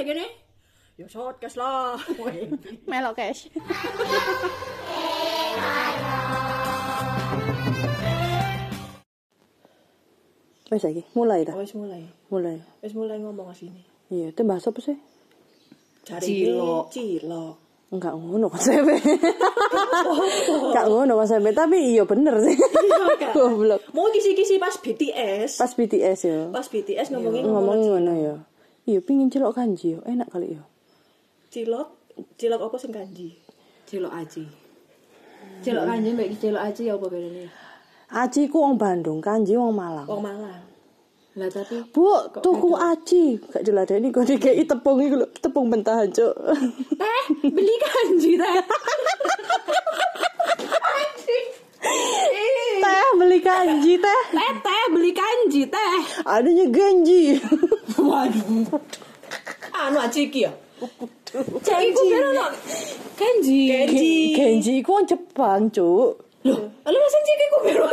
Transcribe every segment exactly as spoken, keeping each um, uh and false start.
nek kene. Ya shot cash lah. Melok cash. Wes iki mulai ta? Wis mulai. Mulai. Wis mulai ngomong asline. Iya, itu bahasa apa sih? Cari Cilok. Cilok. Enggak ngono konsepnya. Enggak ngono konsepnya, tapi iya bener sih. Goblok. Mau kisi-kisi pas B T S. Pas B T S ya. Pas B T S ngomongin Ngomongin ngono ya. Iya, pingin cilok kanji yo. Enak kali ya. Cilok, cilok apa sing kanji? Cilok aji. Cilok kanji mbek cilok aji ya apa bedane? Aji ku wong Bandung, kanji wong Malang. Wong Malang. Lah tapi Bu, tuku aji. Gak diladeni kok dikei tepung iku lho, tepung bentahan, Cuk. teh beli kanji teh. Teh beli kanji teh. Teh teh beli kanji teh. Adanya ganji. Waduh. Anu aji iki ya. Cek iku kira no kanji. Kenji. Genji iku wong Jepang, Cuk. Loh, lu mesen cek iku kira.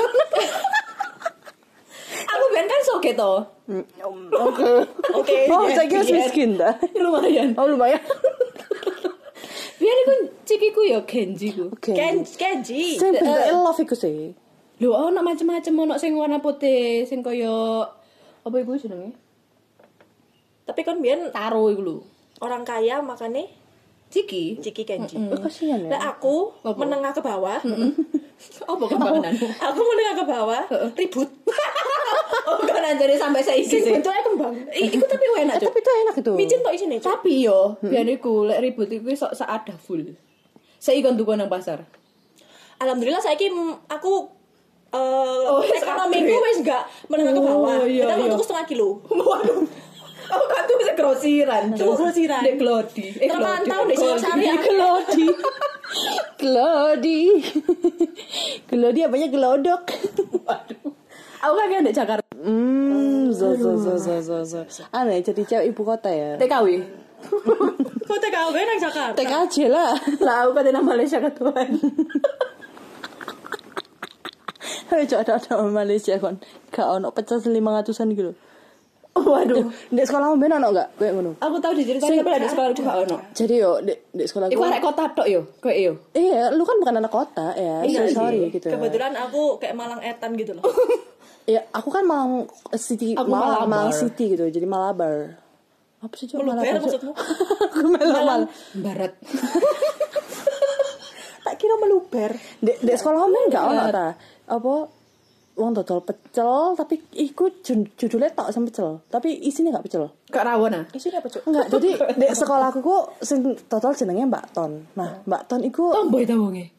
Aku ben kan soge to. Oke. Oke. Oh, saya kira sweet skin dah. Lumayan. Oh, lumayan. Biar iku cek iku ya kenji ku. Ken Kenji. Sing bentuke love iku sih. Lho, ono macam-macam ono sing warna putih, sing kaya apa iku jenenge? Tapi kan biyen Taro iku lho. orang kaya makane Ciki. Ciki Kenji. Oh, kasihan ya. Lah aku Apa? menengah ke bawah. Apa kembangan? Aku menengah ke bawah, ribut. Oh, kan anjane sampai saiki sih. Bentuknya kembang. I- Iku tapi enak, Cuk. Tapi itu enak itu. Micin tok isine. Cuk. Tapi yo, biar iku lek ribut iku sok seada full. Saya ikon tuku nang pasar. Alhamdulillah saiki mm, aku eh Oh, wis ekonomiku upgrade. wis enggak menengah ke bawah. Oh, iya, Kita iya. tuku setengah kilo. Waduh. Aku kan tuh bisa grosiran, Tuku grosiran. Dek Glodi. Eh, Terpantau Glodi. di Singosari. Glodi. Glodi. Glodi apanya gelodok. Waduh. Aku kan kan di Jakarta. Hmm, zo zo zo zo zo zo. Aneh jadi cewek ibu kota ya. T K W. Kok T K W nang Jakarta? Tek aja lah. Lah aku kan nang Malaysia ketuan. Ayo coba ada Malaysia kon. Gak ono pecel lima ratusan gitu. Waduh. Di sekolah mbien ono gak kayak ngono? Aku tahu diceritain tapi ada sekolah aku gak ono. Jadi yo di, di sekolah Iku gua. arek kota tok yo, kowe yo. Iya, lu kan bukan anak kota ya. Iya so, sorry sih. gitu. Kebetulan aku kayak Malang Etan gitu loh. Ya, aku kan Malang City, Aku Malang, Malabar. Malang City gitu. Jadi Malabar. Apa sih cuma Meluber Malabar? maksudmu? Aku Malang. Barat. Tak kira meluber. Di, di sekolah homem enggak ono ta. Apa wong dodol pecel tapi iku jud- judulnya tok sing pecel, tapi isinya enggak pecel. Kak Rawon ah. Isinya apa, Cuk? Enggak, jadi di sekolahku ku sing dodol jenenge Mbak Ton. Nah, Mbak Ton iku Tomboy ta wonge.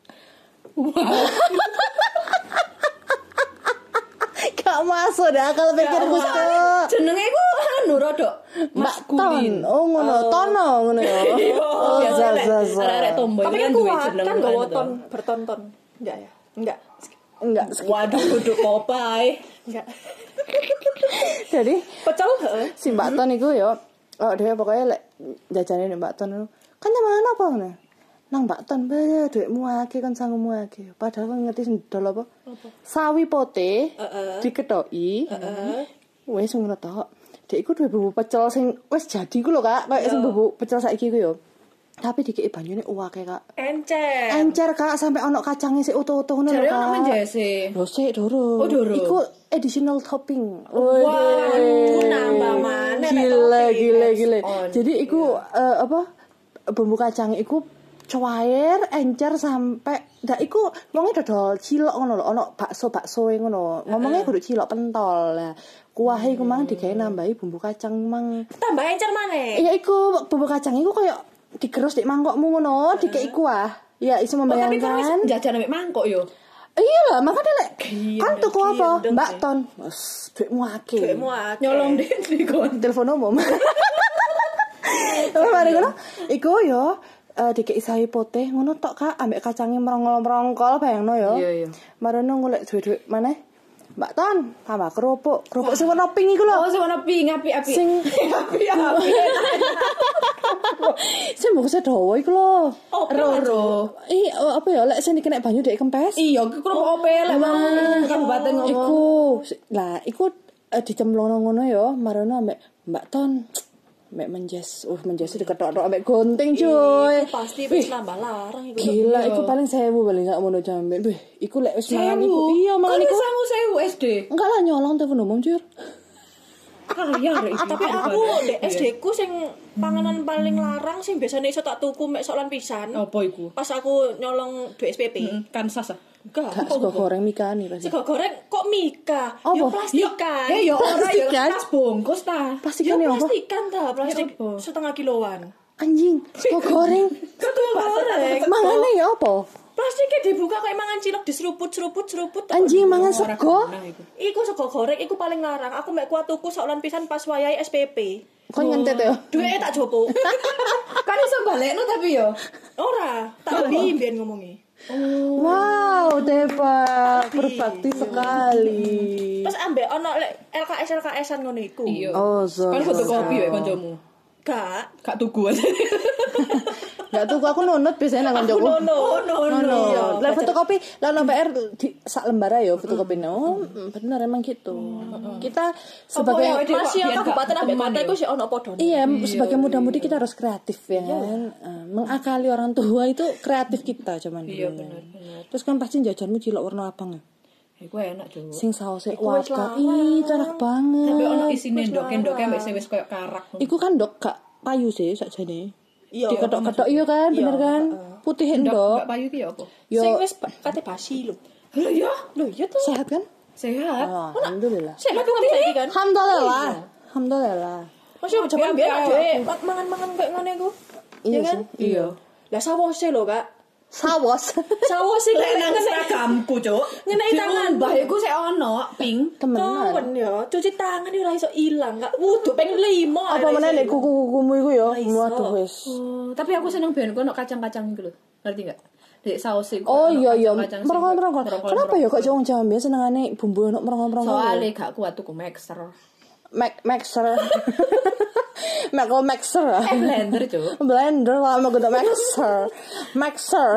gak masuk dah akal pikirku kok. Jenenge iku anu rodok Mbak Ton. Oh ngono, Tono ngono ya. Oh, biasa za lek za za. arek-arek tomboy Tapi kan kan duwe kuat, jeneng kan anu gak to. woton bertonton. Enggak ya? Enggak. Enggak. Waduh duduk Popeye. Enggak. Jadi Pecel heeh. si Mbak Ton iku yo, oh dia pokoknya lek jajane nek Mbak Ton itu kan nyaman apa ngono. Nang Mbak Ton bae dhuwitmu akeh kon sangumu akeh. Padahal kan ngerti sing dol apa? Sawi pote Heeh. diketoki. Heeh. Wes ngono tok. Dek iku duwe bubuk pecel sing wis jadi ku lho, Kak. Kayak sing bubuk pecel saiki ku yo. Tapi dikeki banyune uwake, Kak. Encer. Encer, Kak, sampai ono kacangnya sik utuh-utuh ngono lho, Jare Kak. ono menjese. Lho sik durung. Oh, durung. Iku additional topping. Waduh, nambah maneh nek Gila, topping. gila, gila. on. Jadi iku eh, apa? Bumbu kacang iku cuair, encer sampai ndak iku wonge dodol cilok ngono lho, ono bakso-bakso e ngono. Ngomongnya kudu cilok pentol. Nah, kuahe iku mang digawe nambahi bumbu kacang mang. Tambah encer maneh. Iya iku bumbu kacang iku koyo digerus di mangkokmu ngono, dikei kuah. Ya iso Oh, tapi kan wis membayangkan. jajan ambek mangkok yo. Iya lah, makanya lek Gendeng, kan tuku apa? gendeng, Mbak sih. Ton. Wes, duitmu akeh. Duitmu akeh. Nyolong deh di kon. Telepon umum. Terus mari ngono, iku yo eh dikei sawi putih ngono tok Kak, ambek kacange merongol-merongkol bayangno yo. Iya, iya. Marono golek duit-duit maneh. Mbak Ton, tambah kerupuk. Kerupuk sing warna pink iku lho. Oh, sing ono pink api-api. Sing api-api. sing bungkusnya dawa iku lho. Oh, Roro. Ih, oh, apa ya lek sing dikena banyu dek kempes. Iya, ku kerupuk opo lek wong kabupaten ngomong. Iku, lah iku eh, dicemplungno ngono ya, marono ambek Mbak Ton. Mek menjes, uh menjes diketok-tok ambek gonting cuy. Iku pasti wis nambah larang iku. Gila, iku paling sewu paling gak ngono jambe. Wih, iku lek wis mangan iku. Sewu. Iya, mangan Kan iku. wis sangu sewu S D. Enggak lah nyolong telepon umum, Cur. Kaya rek. Tapi aku di S D ku sing panganan paling larang sing biasanya iso tak tuku mek solan pisan. Apa iku? Pas aku nyolong duit S P P. Kan sas ah. Enggak. Gak sego goreng mikani pasti. Sego goreng kok Mika? Apa? Yo plastikan. Ya ya ora ya Plastikan? tas bungkus ta. Plastikan Yo ya apa? plastikan ta, plastik Ya apa? setengah kiloan. Anjing, sego goreng. Sego goreng. Mangane ya apa? Plastiknya dibuka kayak mangan cilok diseruput-seruput seruput. Anjing mangan sego. Iku sego goreng iku paling larang. Aku mek kuat tuku solan pisan pas wayahe S P P. Kon ngentet ya. Duitnya tak jopo. Kan iso balekno tapi yo. Ora, tak beli biyen ngomongi. Wow, Depa berbakti sekali. Terus ambek ono lek L K S L K S-an ngono iku. Iya. Oh, so. Kan fotokopi wae kancamu. Gak. Gak tuku aja. Enggak tuh aku nunut biasanya nang kancaku. No no no no. Lah fotokopi, lah no P R di sak lembar aja fotokopi. Oh, bener emang gitu. Kita sebagai masih biar gak kabupaten ambek teman kota ya. iku sih ono podone. iya, sebagai muda-mudi kita harus kreatif ya kan. Eh, mengakali orang tua itu kreatif kita cuman. Iya bener bener. Terus kan pasti jajanmu cilok warna abang ya. Iku enak jo. Sing sausnya Iku wis wadah. larang. Ih, itu enak banget. Tapi ono isine ndok-ndok ambek sing wis koyo karak. Iku kan dok gak payu sih sakjane. Iya. Diketok-ketok iya kan, bener kan? Putih endok. Ndok payu ki ya apa? Sing Yo wis kate basi lho. Lho ya, Lho iya tuh. sehat kan? sehat. Oh, alhamdulillah. Sik aku ngerti saiki kan. Alhamdulillah. Alhamdulillah. Masih jaman biyen aja mangan-mangan kayak ngene iku. Iya kan? sih. Iya. Lah sawose lho, Kak. Sawas. Sawose Lek lek nang seragamku, Cuk. ngenai tangan. Mbah iku sik ono pink. Temenan. Kawan ya, cuci tangan ora iso ilang, Kak. Wudu ping lima. Apa meneh nek kuku-kukumu iku ya? Waduh wis. Oh, tapi aku seneng ben ono kacang-kacang iku lho. Ngerti enggak? Dek saus iku. Oh ono iya iya, kacang-kacang sing merongkol-merongkol. merongkol- Kenapa ya kok wong Jawa biasa senengane bumbu ono merongkol-merongkol? Soale gak kuat tuku mixer. Mac Maxer. Mac Maxer. Eh blender, Cuk. Blender lah mau gede Maxer. Maxer.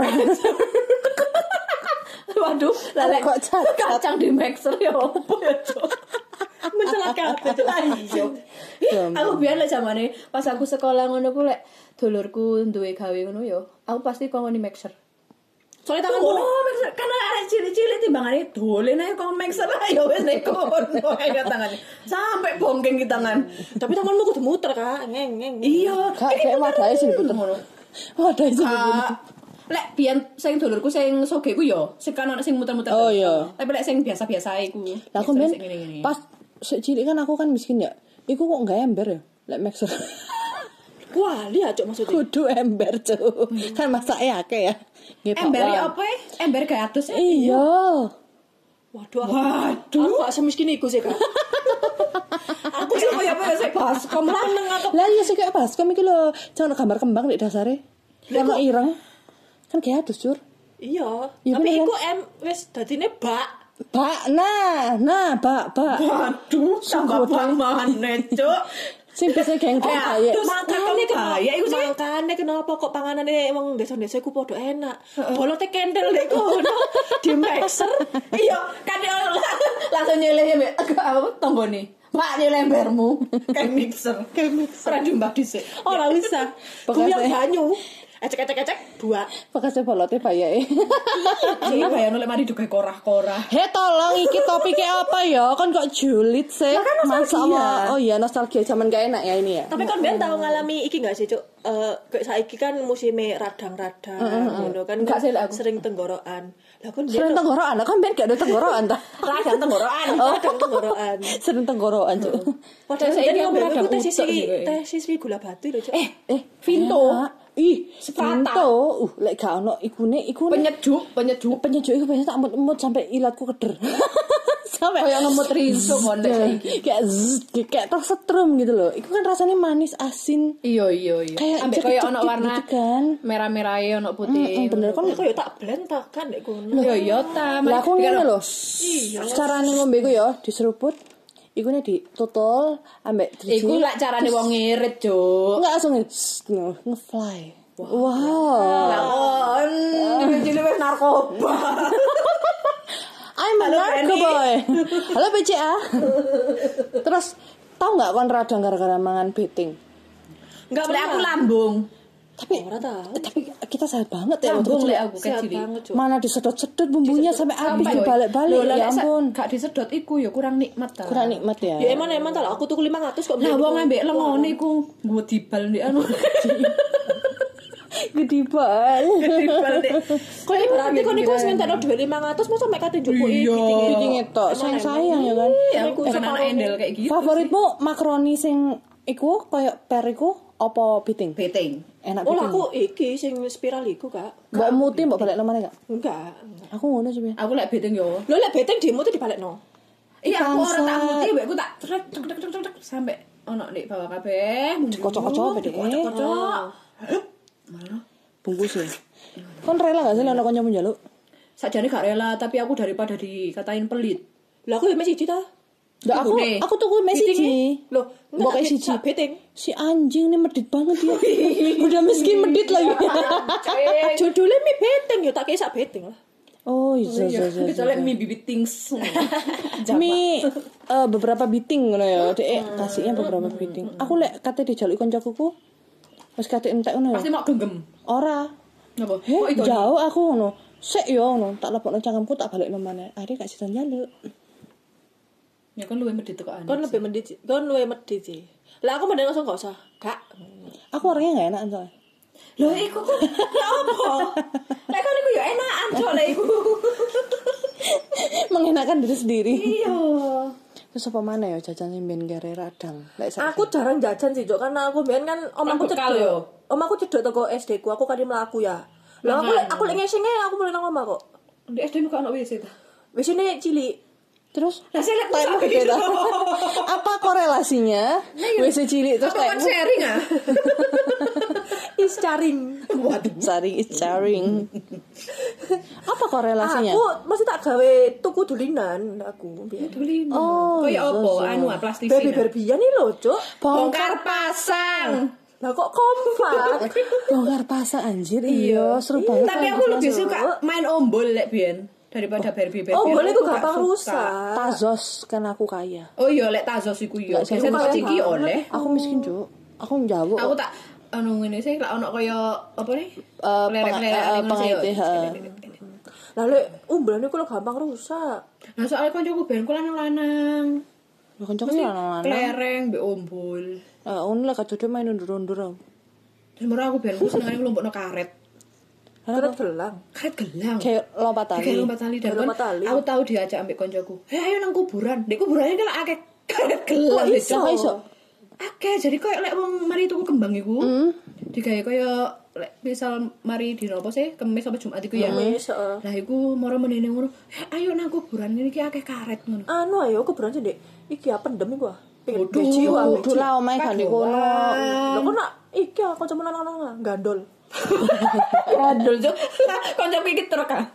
Waduh, lalek Kok cacat? kacang di mixer ya opo ya, Cuk. mencelakakan itu. Iya. Aku biyen lek zamane pas aku sekolah ngono ku lek dulurku duwe gawe ngono yo, aku pasti kongkon mixer. Soalnya tangan Oh, kono. mixer karena arek cilik-cilik timbangane dolen ae kong mixer ayo wis nek kono ae tangane. Sampai bongkeng di tangan. Tapi tanganmu kudu muter, Kak. Ngeng ngeng. Iya, Kak kayak wadahe sing diputer. Wadahe sing diputer. Kak, lek biyen sing dulurku sing soge ku yo, sing kan ono sing muter-muter. Oh, iya. Tapi lek sing biasa-biasa iku. Lah aku mixer ben sing ngene-ngene. pas sik cilik kan aku kan miskin ya. Iku kok enggak ember ya? Lek Maxer. Wah, lihat cok maksudnya. Kudu ember, Cuk. Kan masake akeh ya. Nggih, Pak. Ember Wan. apa? Ember gatus. Iya. Waduh, aku, Waduh. aku gak semiskin iku sih, Kak. Aku sih koyo apa ya sik baskom Laneng aku. Lah iya sih kayak baskom iki lho, jangan gambar kembang di dasare. Ono ireng. Kan kayak adus, Cur. Iya, Iya, tapi bener, iku em wis dadine bak. Bak, nah, nah, bak, bak. Waduh, tambah maneh, Cuk. Sing bisa geng Eh, kaya. terus makane bahaya iku sih. Makane kenapa kok panganane emang desa-desa iku padha enak. Bolote kendel dek kono di mixer. Iya, kan dia langsung nyeleh mbek apa tonggone. Pak nyeleh embermu kayak mixer. Kayak mixer. Ora diumbah dhisik. Ora bisa. Bekasnya. Guyang banyu. Ecek-ecek-ecek buak. Bekasnya bolote bayae. Iki bayar oleh mari duwe korah-korah. He tolong iki topiknya apa ya? Kan kok julid sih. Masa apa? Oh iya nostalgia zaman gak enak ya ini ya. Tapi kan ben tau ngalami iki gak sih, Cuk? Eh kayak saiki kan musime radang-radang ngono kan. Enggak sih, lah, aku. Sering tenggorokan. Lah kan Sering tenggorokan, kan ben gak ada tenggorokan ta. radang tenggorokan. Radang tenggorokan. Sering tenggorokan, Cuk. Padahal Saiki saya aku ngomong radang aku tes utek siswi sih, tes siswi gula batu lho, Cuk. Eh, Eh, Vinto. enak. Ih, Sepata. Vinto. Uh, lek gak ono ikune, ikune penyejuk, penyejuk. penyejuk iku biasanya tak emut-emut sampai ilatku keder. Sampai Kayak ngemut rinso kon lek saiki. kayak zzz, kayak tersetrum gitu loh. Iku kan rasanya manis, asin. Iya, iya, iya. Kayak Ambek koyo ono cekik warna gitu kan. merah-merah ono putih. Mm, bener kan. Kok ya tak blend tak kan nek kono. Yo yo ta. Lah aku ngene lho. Iya. Carane ngombe iku ya diseruput. Iku nek ditutul ambek driji. Iku lak carane wong ngirit, Cuk. enggak langsung nge- nge- nge-fly. Wow. Lakon, cilik wis narkoba. I'm a Halo, narco Penny. boy. Halo B C A. Terus tahu nggak kon radang gara-gara mangan beting? Enggak Lek pernah. aku lambung. Tapi Ora tahu. eh, tapi kita sehat banget ya Lambung waktu lek kecil. aku Sehat kecil. banget, Cuk. Mana disedot-sedot bumbunya sampai habis Sampai dibalik-balik. Loh, lah, Ya lek sa- ampun. Gak disedot iku ya kurang nikmat ta. Kurang nikmat ya. Ya emang emang tak aku tuku lima ratus kok. Lah beli wong iku. ambek lengone iku nggo dibal ndek anu. Gede banget. Dibal ndek. Kok berarti kok niku wis ngentekno dhuwit lima ratus mosok mek kate njupuki Iya. Bikin ngetok, sayang-sayang ya kan. Ya aku kan anak endel kayak gitu. Favoritmu makaroni sing iku koyo per iku apa piting? Beting. Enak Oh, piting. aku iki sing spiral iku, Kak. Mbok muti mbok balik nomane gak? Enggak. enggak. Aku ngono sih. Bin. Aku lek beting yo. Lho lek beteng demo tuh dibalekno. Iya, aku ora tak Bangsat. muti mbek aku tak trek trek trek trek trek sampai ono ndek bawah kabeh. Kocok-kocok bedek. Kocok-kocok. Bungkus ya. Kon rela gak sih lek ono kancamu njaluk? Sakjane gak rela, tapi aku daripada dikatain pelit. Lah aku ya mek siji ta. Nggak, aku Tunggune. aku tuku mes siji. Loh, Mbok kayak siji. beteng. Si anjing ini medit banget ya. Udah miskin medit lagi. Judulnya mie beteng ya tak kayak sak beteng lah. Oh, iya iya iya. Kecuali mie bibit things. Mi eh, beberapa biting ngono ya. Dek kasihnya beberapa biting. Aku lek kate dijaluk kancaku ku wis kate entek ngono ya. Pasti mau genggam. Ora. Napa? Heh, Kok itu? jauh aku ngono. Sik yo ngono, tak lepokno cangkemku tak balik nomane. Akhirnya gak sida njaluk. Ya kan luwe medit tekan. Kon lebih medit, kon luwe medit sih. Lah aku mending langsung gak usah. Kak. Aku orangnya gak enak soalnya. Lho iku kok ya apa? Lek kan iku ya enakan cok lek iku. Mengenakan diri sendiri. Iya. Terus apa mana ya jajan sing ben kere radang. Lek sak- Aku jarang jajan sih, Jok, karena aku biyen kan omaku bekal yo. cedek. Omaku cedek teko S D ku, aku kan mlaku ya. Lah aku lek- aku lek ngesenge aku mulai nang omah kok. Di S D mu kan ono W C ta. Wis ini cilik. Terus Lah saya lek Time gede dah. Apa korelasinya? W C cilik terus Apa kan kayak sharing ah? Is caring. Waduh. sharing is sharing. Apa korelasinya? Aku mesti tak gawe tuku dulinan aku biyen. Dulin. Oh, Kayak iya, apa? iya. Anu ah plastik. Baby Barbian nih lho, Cuk. Bongkar pasang. Lah kok kompak. Bongkar pasang anjir. Iya, seru banget. Tapi aku lebih suka main ombol lek biyen daripada Barbie Barbie. Oh, boleh Aku ku gak gampang suka. rusak. Tazos kan aku kaya. Oh iya lek Tazos iku yo. Lek Biasanya saya tak iki oleh. Aku miskin, Cuk. Aku njawuk. Aku tak anu ngene sih lek ono kaya apa nih? Eh, Lerek-lerek peng- eh, ngono sih, yo. pengait, ha. Lah lek umbelan iku lho gampang rusak. Nah soalnya kancaku ben ku lanang-lanang. Lah kancaku sih lanang-lanang. Kelereng mbek ombol. Eh, ono lah kadode main undur-undur. Terus murah aku ben ku senengane nglumpukno karet. Terus gelang. Karet gelang. Kayak lompat tali. Kayak lompat tali dan Kayak lompat kan tali. aku tahu diajak ambek koncoku. "Hei, ayo nang kuburan." Dek kuburannya kan akeh karet gelang Kok gitu. iso? Kok iso? Akeh jadi koyo lek wong mari tuku kembang iku. Hmm. Digawe koyo lek misal mari dino apa sih? Kemis sampai Jumat iku ya. Kemis, heeh. Lah iku moro menene ngono. "Hei, ayo nang kuburan ngene iki akeh karet ngono." Anu ayo kuburan sih, Dek. Iki apa pendem iku ah. Pengen Waduh. beci wae. Kudu lah omae gak di kono. Lah kok nak iki aku cuma lanang-lanang gandol. Gandul juk. Koncoku iki truk ah.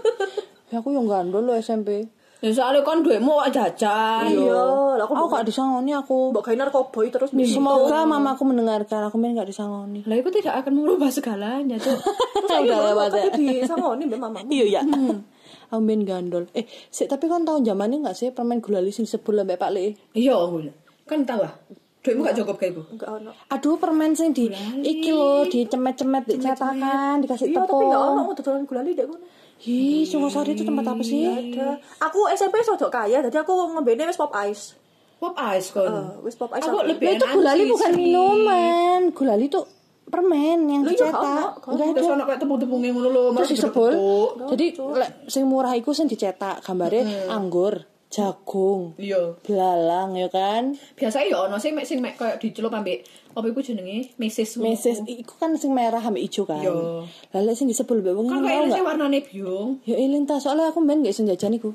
Ya aku yang gandol lo S M P. Ya soalnya kon duwemu kok jajan. Iya, lah aku Aku gak disangoni aku. mbok gawe narkoboy terus Semoga mamaku mendengarkan. Aku main gak disangoni. Lah itu tidak akan merubah segalanya, Cuk. Udah lewat ya. tapi disangoni mbek mamamu. Iya ya. Aku main gandol. Eh, sik tapi kan tahun zamannya gak sih permen gulali sing sebul mbek Pak Le? Iya, Ul. Kan tahu ah. Duitmu gak cukup kayak iku. Enggak ono. Aduh, permen sing di iki lho, dicemet-cemet dicetakan, dikasih Iya, tapi enggak ono tepung. aku dodolan gulali dek kono. Ih, Sungosari itu tempat apa sih? Ada. Aku S M P rodok kaya, jadi aku ngembene wis pop ice. Pop ice kon. Eh, wis pop ice. Aku aku. lebih Lah itu enak gulali sih, bukan sih. minuman. Gulali itu permen yang Lah iya, dicetak. gak ono, gak Enggak Terus ada. ono kayak tepung-tepungnya ngono lho, Terus disebul. dibentuk. Jadi lek sing murah iku sing dicetak gambarnya anggur, jagung, Iya. belalang ya kan. Biasa ya ono sing mek sing mek koyo dicelup ambek apa iku jenenge? Mesis. ngono. Meses iku kan sing merah ambek ijo kan. Iya. Lah lek sing disebul mbek wong Kan ngono kayak enggak? sing warnane biung. Ya eling ta, soalnya aku main gak iso jajan iku.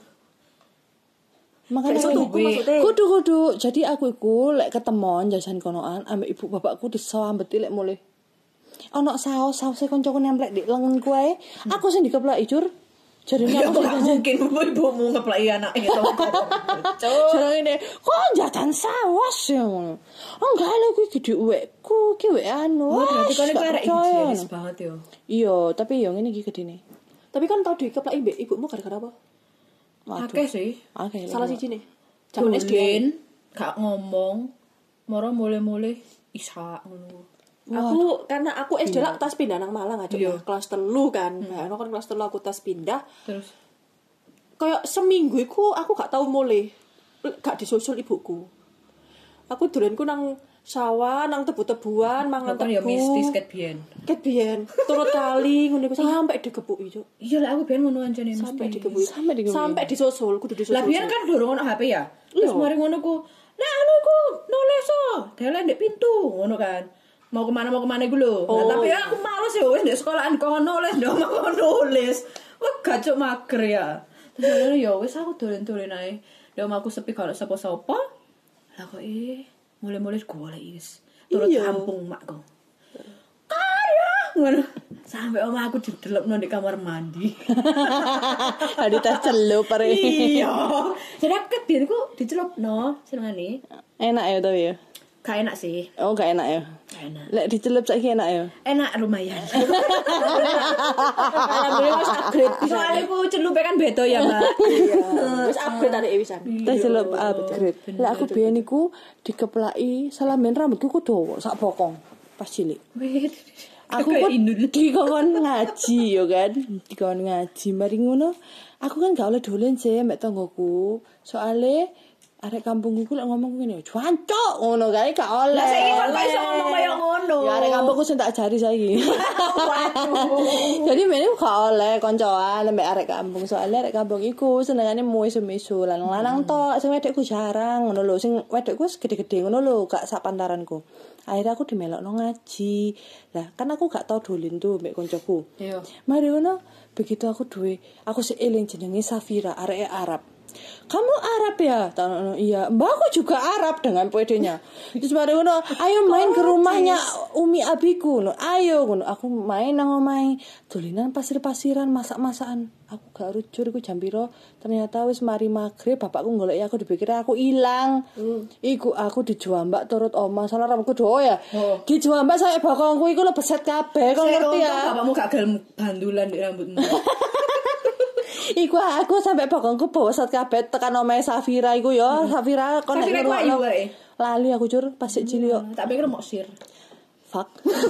Makanya Gak iso tuku maksudnya. kudu kudu. Jadi aku iku lek ketemon jajan konoan ambek ibu bapakku disawambeti lek mulih. Ono saus sausé koncoku nemplek di lenganku ae. Aku sing dikeplaki jur. Jarine Ya aku gak mungkin ibumu ngeplaki anaknya gitu. Cuk. jarine kok jajan saus ya ngono. Oh enggak lho kuwi gede uwekku, ki uwek anu. Oh, berarti kan itu gak arek percaya. higienis banget yo. Iya, tapi yo ngene iki gedene. Tapi kan tau dikeplaki mbek ibumu gara-gara apa? Waduh. Akeh sih. Oke. Salah siji nih. Zaman S D. Dolin, gak ngomong, moro mulai-mulai Ishak ngono. Aku karena aku S D lah tas pindah nang Malang aja Iya. kelas telu kan. Hmm. Kan kelas telu aku tas pindah. Terus Kayak seminggu iku aku gak tau mulai. Gak disusul ibuku. Aku dolenku nang sawah, nang tebu-tebuan, mangan kan tebu. ya mistis ket biyen. Ket biyen. Turut kali ngono iku sampai digebuki, Cuk. Iya lah aku biyen ngono ancane mesti. Sampai digebuki. Sampai digebuki. Sampai disusul, kudu disusul. Lah biyen kan durung ono H P ya. Terus Iya. mari ngono ku, "Nek anu iku nulis oh, delen ndek pintu." Ngono kan. Mau kemana mau kemana gue lho. Oh, Nah, tapi iya. aku males ya wis ndek sekolahan kok nulis, ndek omah kok nulis. Wah gacuk mager ya. Terus ngono ya wis aku dolen-dolen ae. Ndek omahku sepi kalau sapa-sapa. Lah kok eh mulai-mulai golek wis. Turut Iya. kampung makku. Karya ngono. Sampai omah aku didelepno di kamar mandi. Ada tas celup pare. Iya. Jadi aku kebiyen ku dicelupno senengane. Enak ya tapi ya. Gak enak sih. Oh gak enak ya. Gak enak. Lek dicelup saiki enak ya. Enak lumayan. Alhamdulillah wis upgrade. Soalnya aku celupe kan beda ya, Mbak. Wis upgrade arek wisan. Tas celup upgrade. Lek aku biyen iku dikeplaki salamen rambutku ku dawa sak bokong pas cilik. Aku Kayak kok indul. dikon ngaji yo kan. Dikon ngaji mari ngono. Aku kan gak oleh dolen sih mbek tanggoku. Soale arek kampungku lek ngomong ngene, "Jancuk," ngono kae gak oleh. Lah saiki kok iso ngomong kaya ngono. Ya arek kampungku sing tak ajari saiki. Jadi mene gak oleh koncoan mbek arek kampung. Soale arek kampung iku senengane muis-muisu lan lanang tok, sing wedokku jarang ngono lho. Sing wedokku wis gede-gede ngono lho, gak sak pantaranku. Akhirnya aku dimelokno ngaji. Lah, kan aku gak tau dolen tuh mbek koncoku. Iya. Mari ngono, begitu aku duwe, aku seeling jenenge Safira, arek Arab. Kamu Arab ya? Tano, iya. Mbak aku juga Arab dengan pedenya. Terus mari ngono, ayo main ke rumahnya Umi abiku. No, ayo ngono. Aku main nang omahe, dolinan pasir-pasiran, masak-masakan. Aku gak rujur iku jam piro. Ternyata wis mari maghrib bapakku goleki aku dipikir aku ilang. Hmm. Iku aku dijuambak turut oma. Salah rambutku dowo ya. Oh. Dijuambak sampe bokongku iku lebeset kabeh. Kok ngerti ya? Bapakmu gak gelem bandulan di rambutmu. Iku aku sampai bokongku bosot kabeh tekan omahe Safira iku ya. Safira kon nek Safira ku ayu ngrungokno. wae. Lali aku cur pas sik cilik yo. Tak pikir mau sir. Fuck.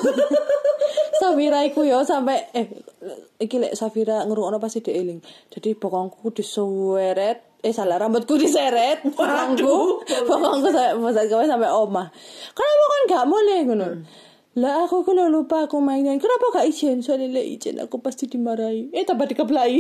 Safira iku yo sampai eh iki lek Safira ngrungokno pasti dhek eling. Jadi bokongku disuweret eh salah rambutku diseret. Bokongku bokongku sampai bosot kabeh sampai omah. Kenapa kan gak boleh ngono? Lah aku kalau lupa aku mainan. Kenapa gak izin? Soalnya lek izin aku pasti dimarahi. Eh tambah dikeplai.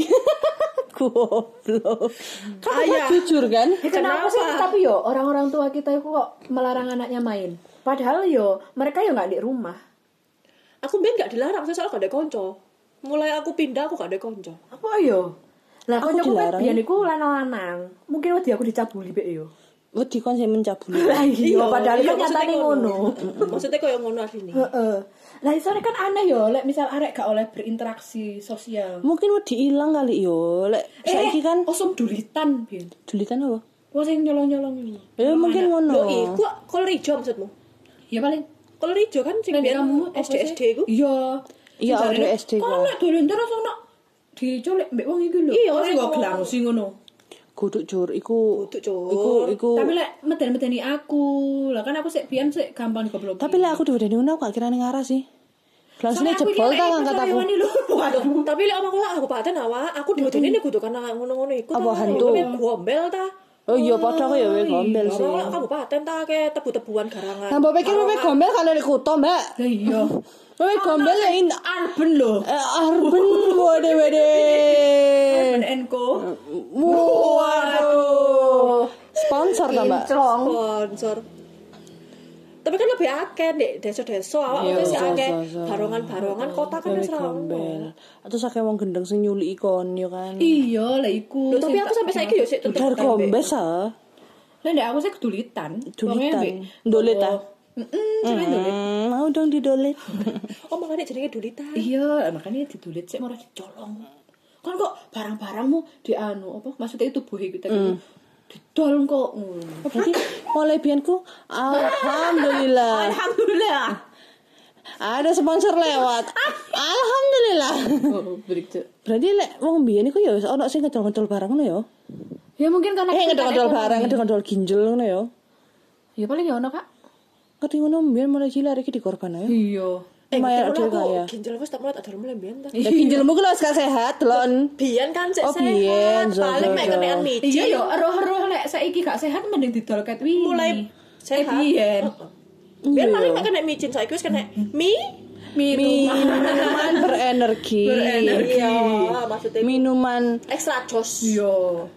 Goblok. Kan Ayah. jujur kan? Kenapa sih? Tapi yo orang-orang tua kita itu kok melarang anaknya main. Padahal yo mereka yo nggak di rumah. Aku mbien gak dilarang, saya soal gak ada konco. Mulai aku pindah aku gak ada konco. Apa yo? Lah Aku kancaku dilarang. biyen iku lanang-lanang. Mungkin wedi aku dicabuli pek yo. Wedi kon sing mencabuli. Lah iya padahal iya, kan maksudnya nyatane ngono. Maksudnya koyo ngono asline. Heeh. Lah isone kan aneh yo lek misal arek gak oleh berinteraksi sosial. Mungkin wedi ilang kali yo. Lek saiki kan osum dulitan biyen. dulitan apa? Wong sing nyolong-nyolong iki. Ya mungkin ngono. Lho iku kolor ijo maksudmu? Ya paling Kolor ijo kan sing nek biyen kamu S D S D iku. Iya. Iya, Sing jarine, ada S D Kok kok. nek dolen terus ono dicolek mbek wong iki lho. Iya, Kok sing sing kok ngomong. gelang sing ngono. Kudu cur iku. Kudu, Cur. Iku iku. Tapi lek meden-medeni aku, lah kan aku sik biyen sik gampang digoblok. Tapi lek aku diwedeni ngono aku gak kirane ngarah sih. Langsung jebol ta ngangkat aku. Waduh, tapi lek omongku lah aku paten awak, aku diwedeni nek kudu karena ngono-ngono iku. Apa ta. hantu? Kowe gombel ta? Oh iya padha kok ya we gombel sih. Ora kamu paten ta ke tebu-tebuan garangan. Nah, mbok pikir wewe gombel kan nek kuto, Mbak. Lah iya. Wewe gombel ya in Arben lho. eh, arben wede wede. Arben Enko. Waduh. Sponsor ta, Mbak? Sponsor. Tapi kan lebih akeh Dek, desa-desa awak Iya, wis akeh desa-desa. barongan-barongan kota kan Wewe wis ra ono. gombel. Terus akeh wong gendeng sing nyuli ikon yo kan. Iya, lah iku. Loh, tapi aku sampai saiki yo sik tetep Dar gombes ah. Lah ndek aku sik kedulitan. Dulitan. Dolet ah. Heeh, sampe dolet. Hmm, mau dong didolet. Oh, makanya jenenge dulitan. Iya, makanya didulit sik ora dicolong. Kan kok barang-barangmu di anu apa? Maksudnya itu tubuh kita gitu. Didol kok. Hmm. Berarti mulai bianku alhamdulillah. Alhamdulillah. Ada sponsor lewat. Alhamdulillah. Oh, break tuh. Berarti lek wong biyen iku ya wis ana sing ngedol-ngedol barang ngono ya. Ya mungkin karena Eh kita ngedol-ngedol ekonomi. barang, ngedol-ngedol ginjel ngono ya. Ya paling ya ono, Kak. Ngerti ngono mbiyen mulai cilik iki dikorban ae. Iya. Eh, Lumayan ngerti ada ngono aku kaya. ginjal wis tak mulai tak dalem mulai mbiyen ta. Ya ginjalmu ku lho gak sehat, delon. Biyen kan cek Oh, sehat. biyen, zo, Paling zo, mek zo. kenekan micin. Iya yo roh-roh lek saiki gak sehat mending didol ket wingi. Mulai sehat. Eh, biyen. Biyen Iya. paling mek kena micin saiki wis kena mie. Minuman berenergi. Berenergi. Iya, maksudnya Minuman ekstra jos. Iya.